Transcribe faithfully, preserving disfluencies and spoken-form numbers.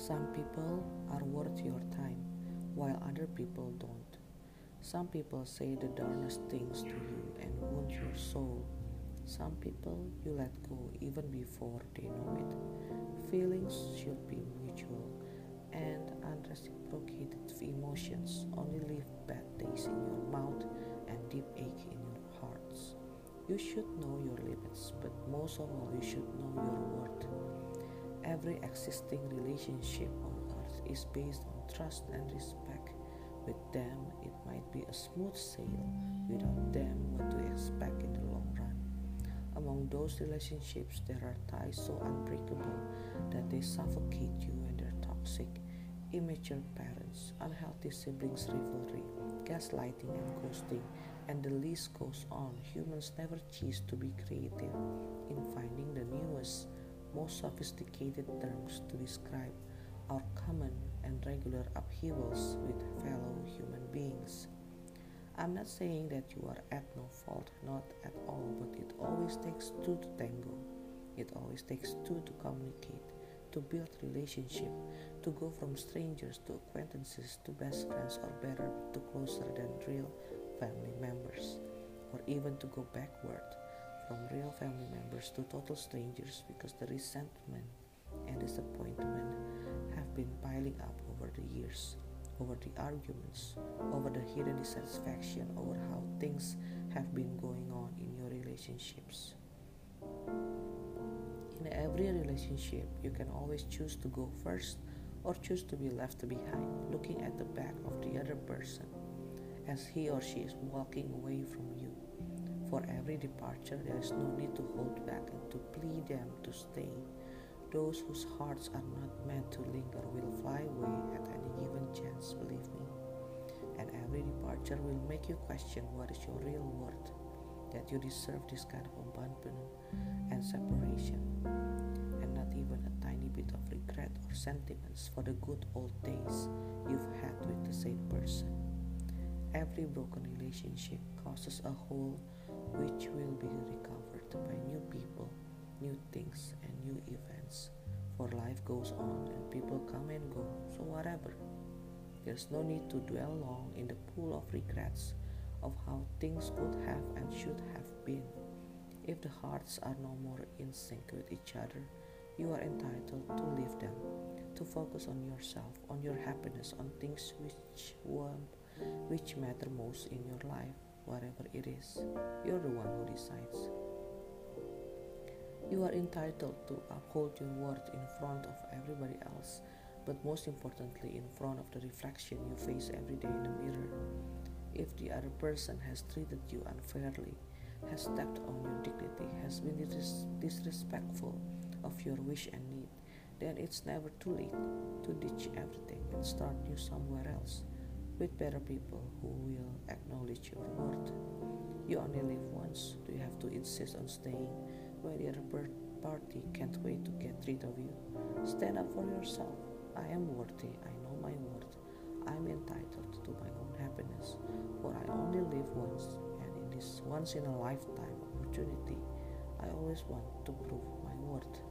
Some people are worth your time, while other people don't. Some people say the darnest things to you and wound your soul. Some people you let go even before they know it. Feelings should be mutual, and unreciprocated emotions only leave bad taste in your mouth and deep ache in your hearts. You should know your limits, but most of all, you should know your worth. Every existing relationship on earth is based on trust and respect. With them, it might be a smooth sail. Without them, what to expect in the long run? Among those relationships, there are ties so unbreakable that they suffocate you, and they're toxic. Immature parents, unhealthy siblings rivalry, gaslighting and ghosting, and the list goes on. Humans never cease to be creative in finding the newest, most sophisticated terms to describe our common and regular upheavals with fellow human beings. I'm not saying that you are at no fault, not at all, but it always takes two to tango. It always takes two to communicate, to build relationship, to go from strangers to acquaintances to best friends, or better, to closer than real family members, or even to go backward from real family members to total strangers, because the resentment and disappointment have been piling up over the years, over the arguments, over the hidden dissatisfaction, over how things have been going on in your relationships. In every relationship, you can always choose to go first or choose to be left behind, looking at the back of the other person as he or she is walking away from you. For every departure, there is no need to hold back and to plead them to stay. Those whose hearts are not meant to linger will fly away at any given chance, believe me. And every departure will make you question what is your real worth, that you deserve this kind of abandonment and separation, and not even a tiny bit of regret or sentiments for the good old days you've had with the same person. Every broken relationship causes a hole which will be recovered by new people, new things, and new events. For life goes on and people come and go, so whatever. There's no need to dwell long in the pool of regrets of how things could have and should have been. If the hearts are no more in sync with each other, you are entitled to leave them, to focus on yourself, on your happiness, on things which want, which matter most in your life, whatever it is. You're the one who decides. You are entitled to uphold your worth in front of everybody else, but most importantly in front of the reflection you face every day in the mirror. If the other person has treated you unfairly, has stepped on your dignity, has been dis- disrespectful of your wish and need, then it's never too late to ditch everything and start new somewhere else with better people who will acknowledge your worth. You only live once. Do you have to insist on staying when the other per- party can't wait to get rid of you? Stand up for yourself. I am worthy. I know my worth. I'm entitled to my own happiness, for I only live once, and in this once in a lifetime opportunity, I always want to prove my worth.